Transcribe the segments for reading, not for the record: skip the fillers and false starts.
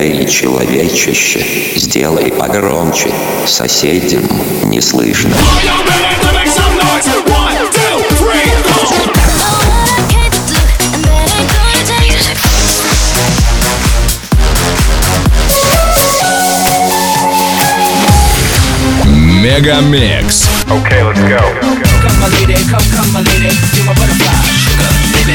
Эй, человечище, сделай погромче, соседям не слышно. Мегамикс. Okay, let's go. Come my lady, come my lady, you're my butterfly, sugar, baby.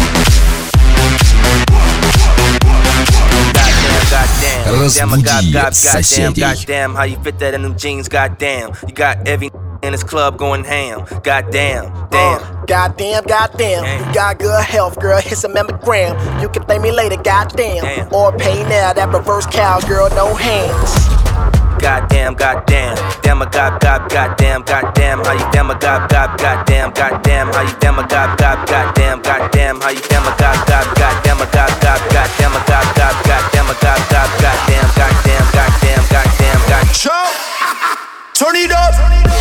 Разбуди соседей. Goddamn, how you fit that in them jeans, goddamn. You got every in this club going ham, goddamn, damn. Goddamn, goddamn. You got good health, girl. Hit some mammogram. You can thank me later, goddamn. Damn. Or pay now, that reverse cowgirl, no hands. Goddamn, goddamn, damn a goddamn, goddamn, how you damn a goddamn, goddamn, how you damn a goddamn, goddamn, how you damn a goddamn a goddamn a goddamn a goddamn. Chop, turn it up.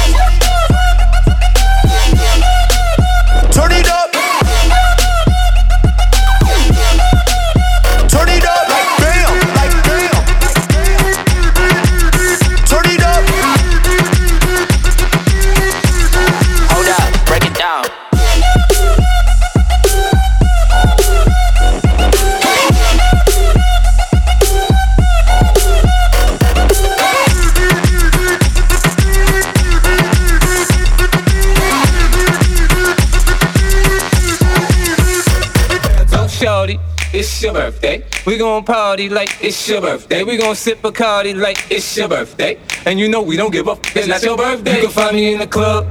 Turn it up. Turn it up like bam, like bam. Turn it up. Hold up, break it down. Shorty, it's your birthday. We gon' party like it's your birthday. We gon' sip Bacardi like it's your birthday. And you know we don't give up, it's not your birthday. You can find me in the club.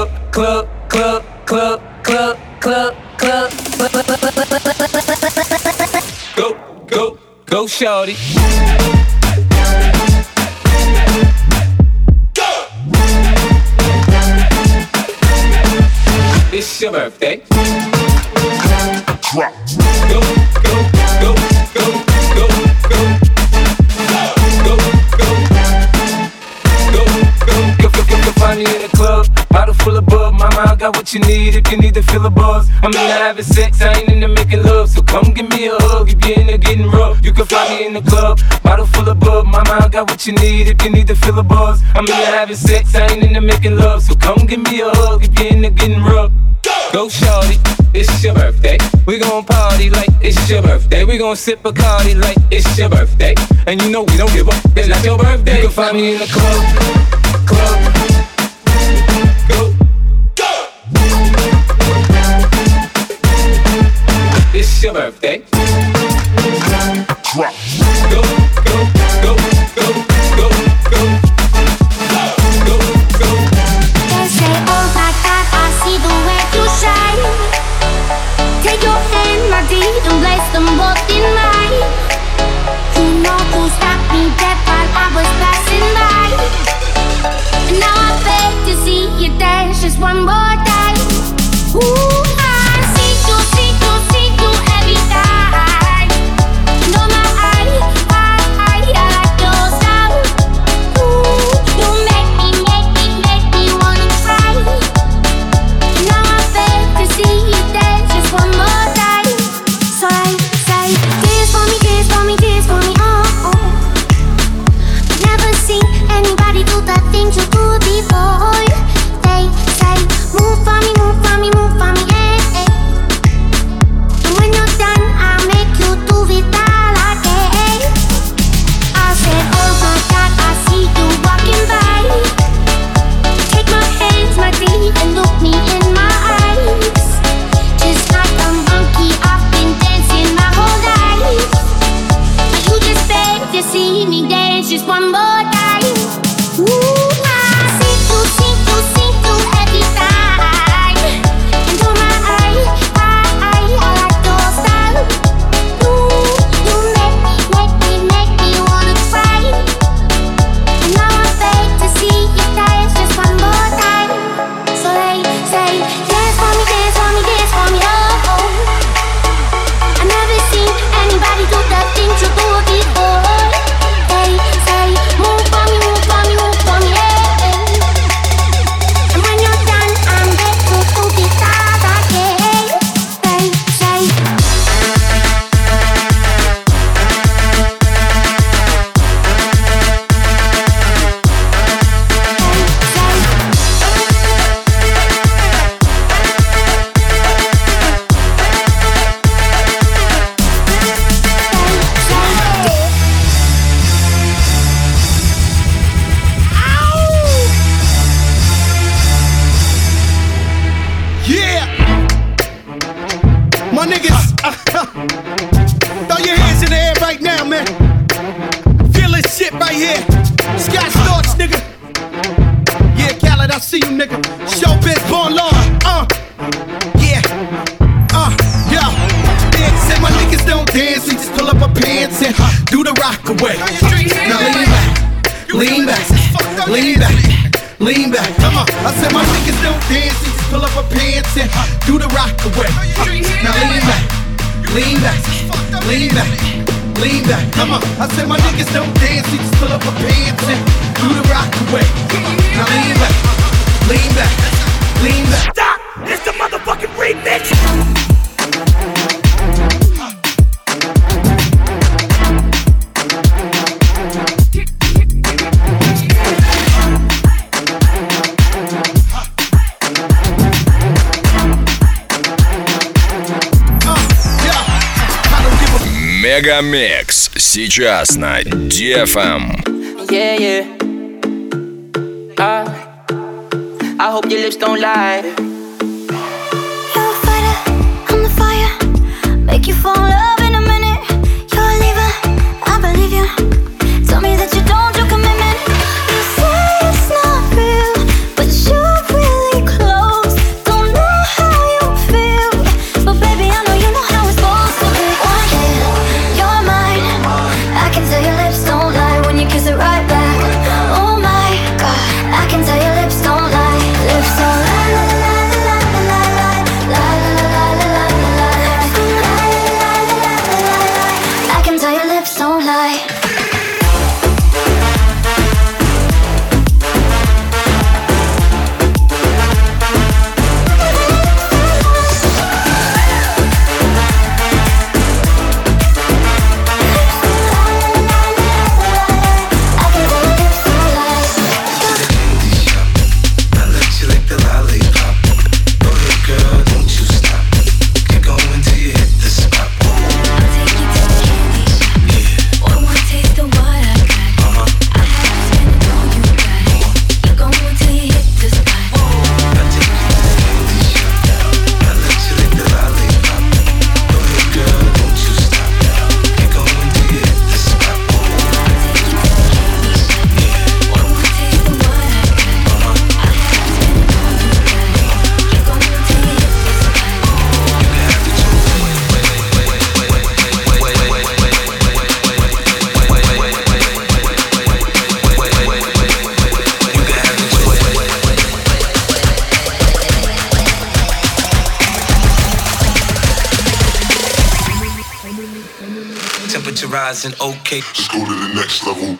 Go, shorty. It's your birthday. Drop. Go. Find me in the club, bottle full of bub. Mama, I got what you need if you need to feel a buzz. I'm into having sex, I ain't into making love. So come give me a hug if you're into getting rough. You can find me in the club, bottle full of bub. Mama, I got what you need if you need to feel a buzz. I'm into having sex, I ain't into making love. So come give me a hug if you're into getting rough. Go shorty, it's your birthday. We gon' party like it's your birthday. We gon' sip Bacardi like it's your birthday. And you know we don't give up, it's not your birthday. You can find me in the club. It's your birthday. Drop. Go. They say, oh my God, I see the way you shine. Take your hand, my dear, and place them both in mine. You know you stopped me dead while I was passing by. And now I beg to see you dance just one more time. Ooh, I see you every time. No, my I like your style. Ooh, you make me wanna cry. Now I beg to see you dance just one more time. So I say, dance for me, oh, oh. I've never seen anybody do the things you do before. They say, move for me, eh, eh. And when you're done, I'll make you do it all again. I said, oh my God, I see you walking by. Take my hands, my dear, and look me in my eyes. Just like a monkey, I've been dancing my whole life. But you just beg to see me dance just one more time. Ooh, I see you every time. And oh my, I like your style. Ooh, you make me wanna cry. And now I beg to see you dance just one more time. So they say, dance for me, oh, oh. I never seen anybody do the things you do before. They say, move shit right here. Scott Storch, nigga. Yeah, Khaled, I see you, nigga. Showbiz, born law. Yeah. Yeah. Big said my niggas don't dance, we just pull up our pants and do the rock away. Now lean back, lean back, lean back, lean back. Come on. I said my niggas don't dance, we just pull up our pants and do the rock away. Now lean back, lean back, lean back, lean back. Come on. I said my niggas don't dance, we just pull up our pants and do the rock away. Now lean back, lean back, lean back. Stop! It's the motherfucking remix! Мегамикс сейчас на DFM. Yeah, yeah. I hope your lips don't lie. You're a fighter, I'm the fire. Make you fall in love in a minute. You're a leaver, I believe you. Tell me that you don't do commitment. You say it's not real, but you're really close. Don't know how you feel, but baby I know you know how it's supposed to be. One day, you're mine. I can tell your lips don't lie when you kiss it right back. Oh my God, I can tell your lips don't lie. Lips don't lie. I can tell your lips don't lie. Temperature rising, okay. Just go to the next level.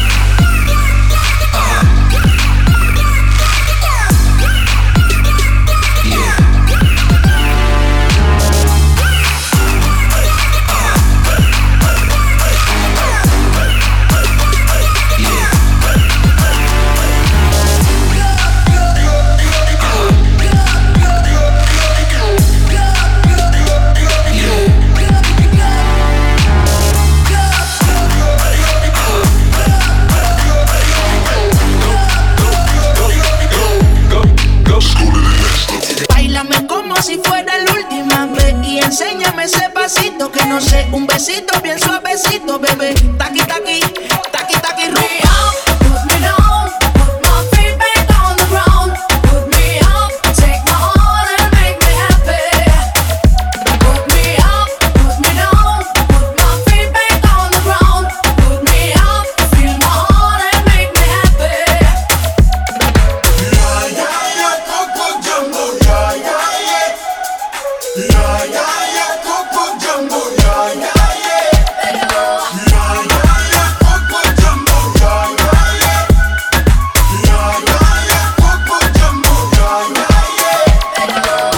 Si fuera la última vez y enséñame ese pasito que no sé, un besito bien suavecito, bebé. Taqui taqui, taqui taqui rumba. Put me down, put my feet back on the ground. Put me up, take my heart and make me happy. Put me up, put me down, put my feet back on the ground. Put me up, feel my heart and make me happy. Yeah, yeah, yeah, Coco Jumbo, yeah, yeah. Yeah, yeah, yeah, Coco Jumbo, yeah, yeah, yeah. Yeah, yeah, yeah, Coco Jumbo, yeah, yeah, yeah. Yeah, yeah, yeah, Coco Jumbo, yeah, yeah, yeah.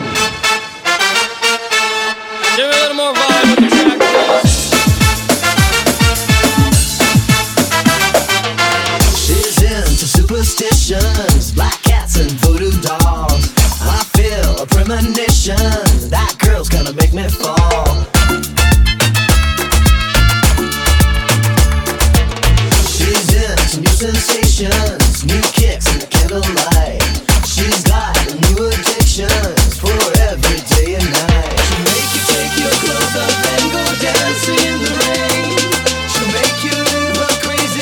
Give me a little more vibe with the track, please. She's into superstitions, black cats and voodoo dolls. I feel a premonition, that girl's gonna make me fall. She's into new sensations, new kicks in the candlelight. She's got new addictions for every day and night. She'll make you take your clothes off and go dancing in the rain. She'll make you live a crazy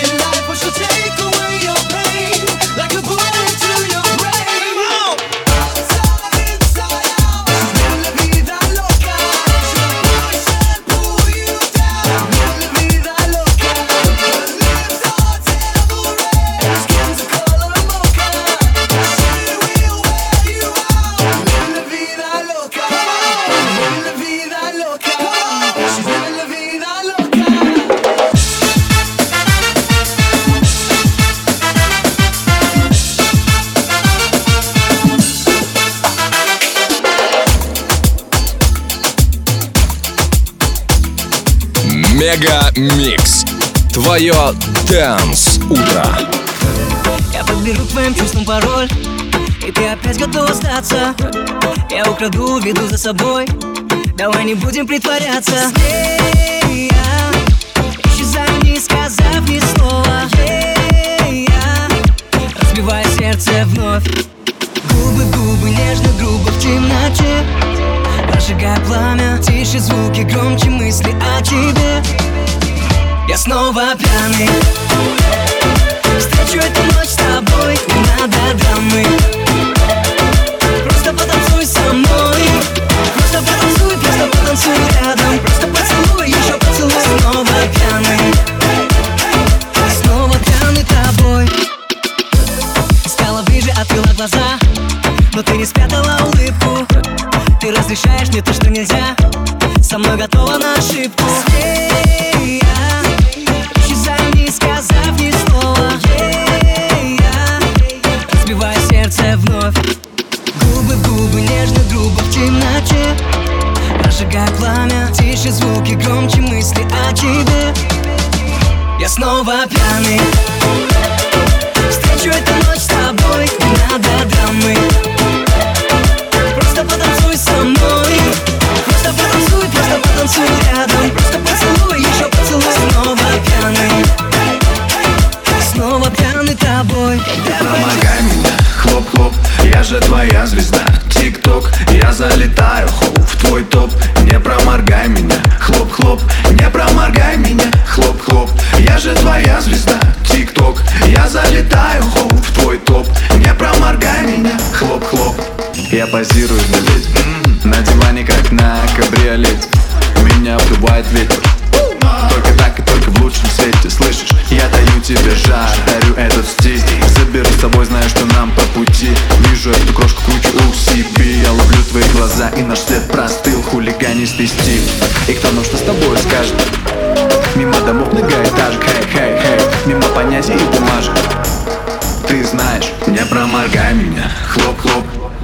Мегамикс. Твое Dance утро. Я подберу к твоим чувствам пароль, и ты опять готов остаться. Я украду, веду за собой. Давай не будем притворяться. Исчезай, не сказав ни слова. Разбивая сердце вновь. Губы, губы, нежно, грубо в темноте. Прожигая пламя, тише звуки, громче мысли о тебе. Я снова пьяный. Встречу эту ночь с тобой, не надо драмы. Просто потанцуй со мной. Просто потанцуй рядом. Просто поцелуй, еще поцелуй. Снова пьяный. Снова пьяный тобой. Стала ближе, открыла глаза, но ты не спрятала улыбку. Ты разрешаешь мне то, что нельзя. Со мной готова на ошибку. Исчезай, не сказав ни слова. Разбивая сердце вновь. Губы, губы, нежно, грубо в темноте. Прожигая пламя, тише звуки, громче мысли о тебе. Я снова пьяный. Встречу эту ночь с тобой, не надо драмы. Просто потанцуй со мной. Просто потанцуй рядом. Просто поцелуй, еще поцелуй. Снова пьяный. Снова пьяный тобой. Помогай меня, хлоп-хлоп, я же твоя звезда. Тик-ток, я залетаю, хоп, в твой топ. Не проморгай меня, хлоп-хлоп, не проморгай меня, хлоп-хлоп, я же твоя звезда. Тик-ток, я залетаю, хоп, в твой топ. Не проморгай меня, хлоп-хлоп. Я позирую для ведьм, на диване как на кабриолете. Меня обдувает ветер. Только так и только в лучшем свете, слышишь? Я даю тебе жар, дарю этот стиль. Заберу с собой, знаю, что нам по пути. Вижу эту крошку кучу UCB. Я ловлю твои глаза, и наш свет простыл. Хулиганистый стиль. И кто нам что с тобой скажет? Мимо домов многоэтажек, хей-хей-хей. Мимо понятий и бумажек. Ты знаешь, не проморгай меня, хлоп-хлоп.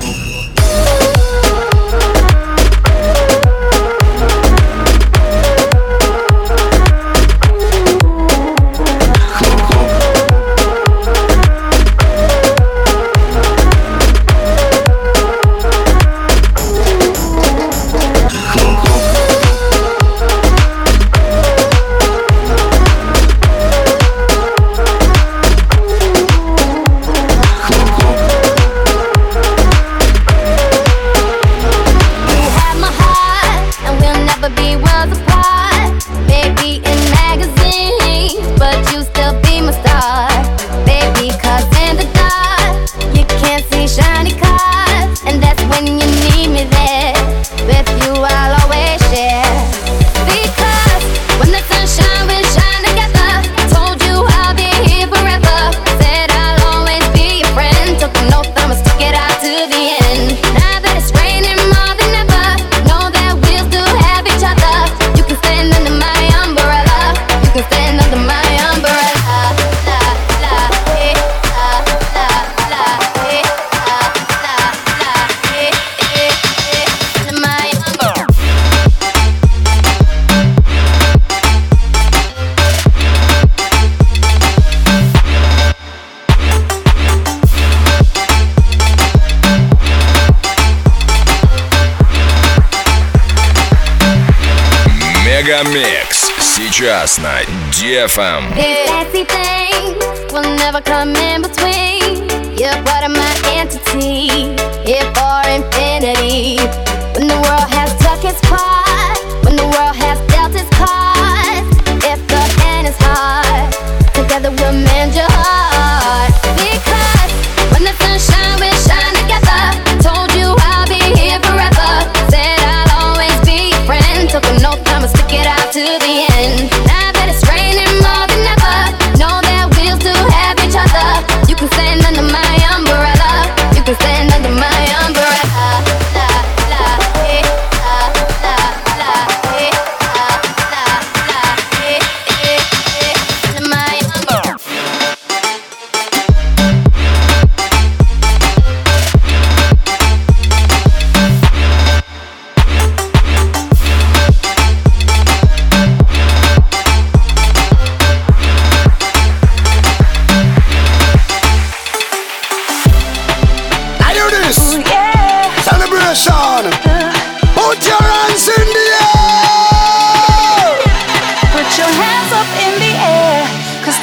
Мегамикс сейчас на DFM. Fancy things will never come in between. You're part of my entity, here for infinity. When the world has took its part, when the world has dealt its cards, if the hand is hard, together we'll mend your heart. Because when the sun shines, we shine together. Told you I'll be here forever. Said I'll always be your friend. Took an oath, I'ma stick it out to the end. Now that it's raining more than ever, know that we'll still have each other. You can stand under my umbrella. You can stand under my umbrella. La, la, eh, la, la.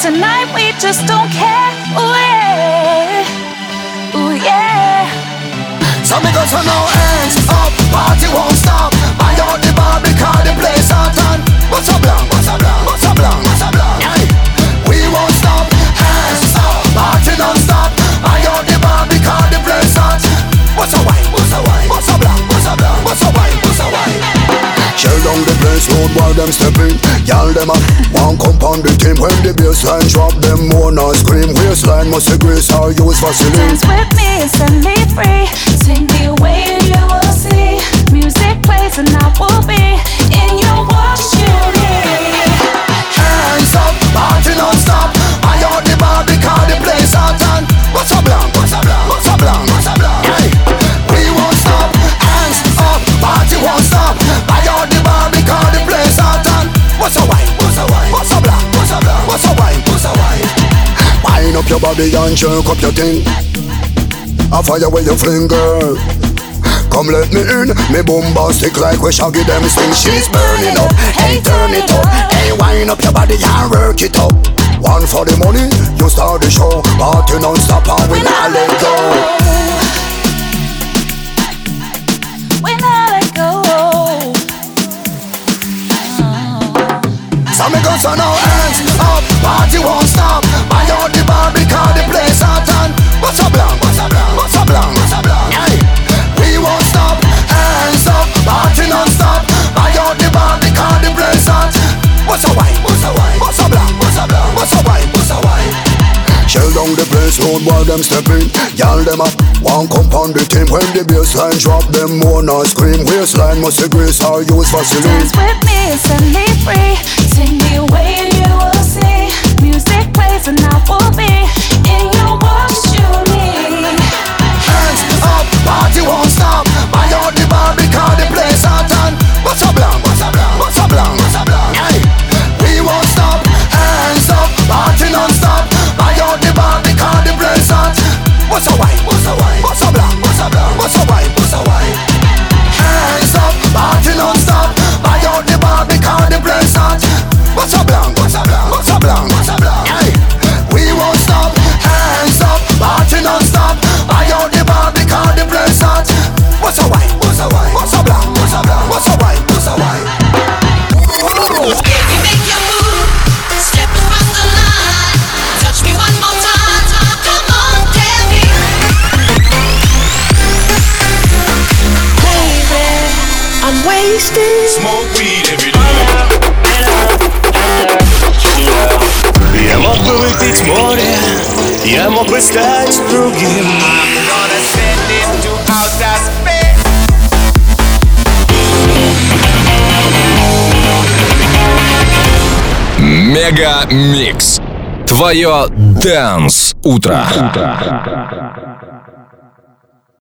tonight we just don't care. Ooh yeah, ooh yeah. So me go turn now hands up, party won't stop. I out the bar because the place hot and what's up long, what's up long, what's up long, what's up long. Aye. We won't stop, hands up, party non-stop. I out the bar because the place hot. What's up wine, what's up wine, what's up long, what's up long, what's up wine, what's up wine. Shell down the place, road while them stepping. Y'all them up, one compound the team. When the bassline drop, them more not scream. Waistline must be grace or use Vaseline. Dance with me, set me free. Take me away and you will see. Music plays and I will be in your what you need. Hands up, party non-stop. I out the bar because the place hot and what's up long, what's up long, what's up long, what's up long. Hey, we won't stop, hands up, party won't stop. I out the bar because the place hot and what's up wine, what's up wine, what's up long, what's up long, what's up wine, what's up wine. Wind up your body and jerk up your thing. I fire where you fling, girl. Come let me in, me bombastic like we shaggy them sing. She's burning up, hey turn it up. Hey wind up your body and work it up. One for the money, you start the show. Party non-stop and we not let go. We not let go. So me go turn our hands up, party won't stop. I out the bar because the place hot and what's up long, what's up long, what's up long, what's up long. Hey, we won't stop, hands up, party non-stop. I out the bar because the place hot. What's up wine, what's up wine, what's up long, what's up long, what's up wine, what's up wine. Shell down the place, road while them stepping. Y'all them up, one compound the team. When the bassline drop, them more not scream. Waistline must be grace or use Vaseline. Dance with me and set me free. Take me away and you will see. Music plays and I will be in your what you need. Hands up, party won't stop. I out the bar because the place hot and what's up long, what's up long, what's up long, what's up long. Hey, we won't stop, hands up, party non-stop. I out the bar because the place hot. What's up wine, what's up wine, what's up long, what's up long, what's up wine, what's up wine. Hands up, party non-stop. I out the bar because the place hot. What's up long, what's up long, what's up long, what's up long. Hey, we won't stop, hands up, party non-stop. I out the bar because the place hot. What's up wine, what's up wine, what's up long, what's up long, what's up wine, what's up wine. Baby, make your move, step across the line. Touch me one more time, come on, tell me. Baby, I'm wasted. Smoke weed every day. Я мог бы выпить море, я мог бы стать другим. I'm gonna send him to outer space. Мега Микс. Твое Dance утро.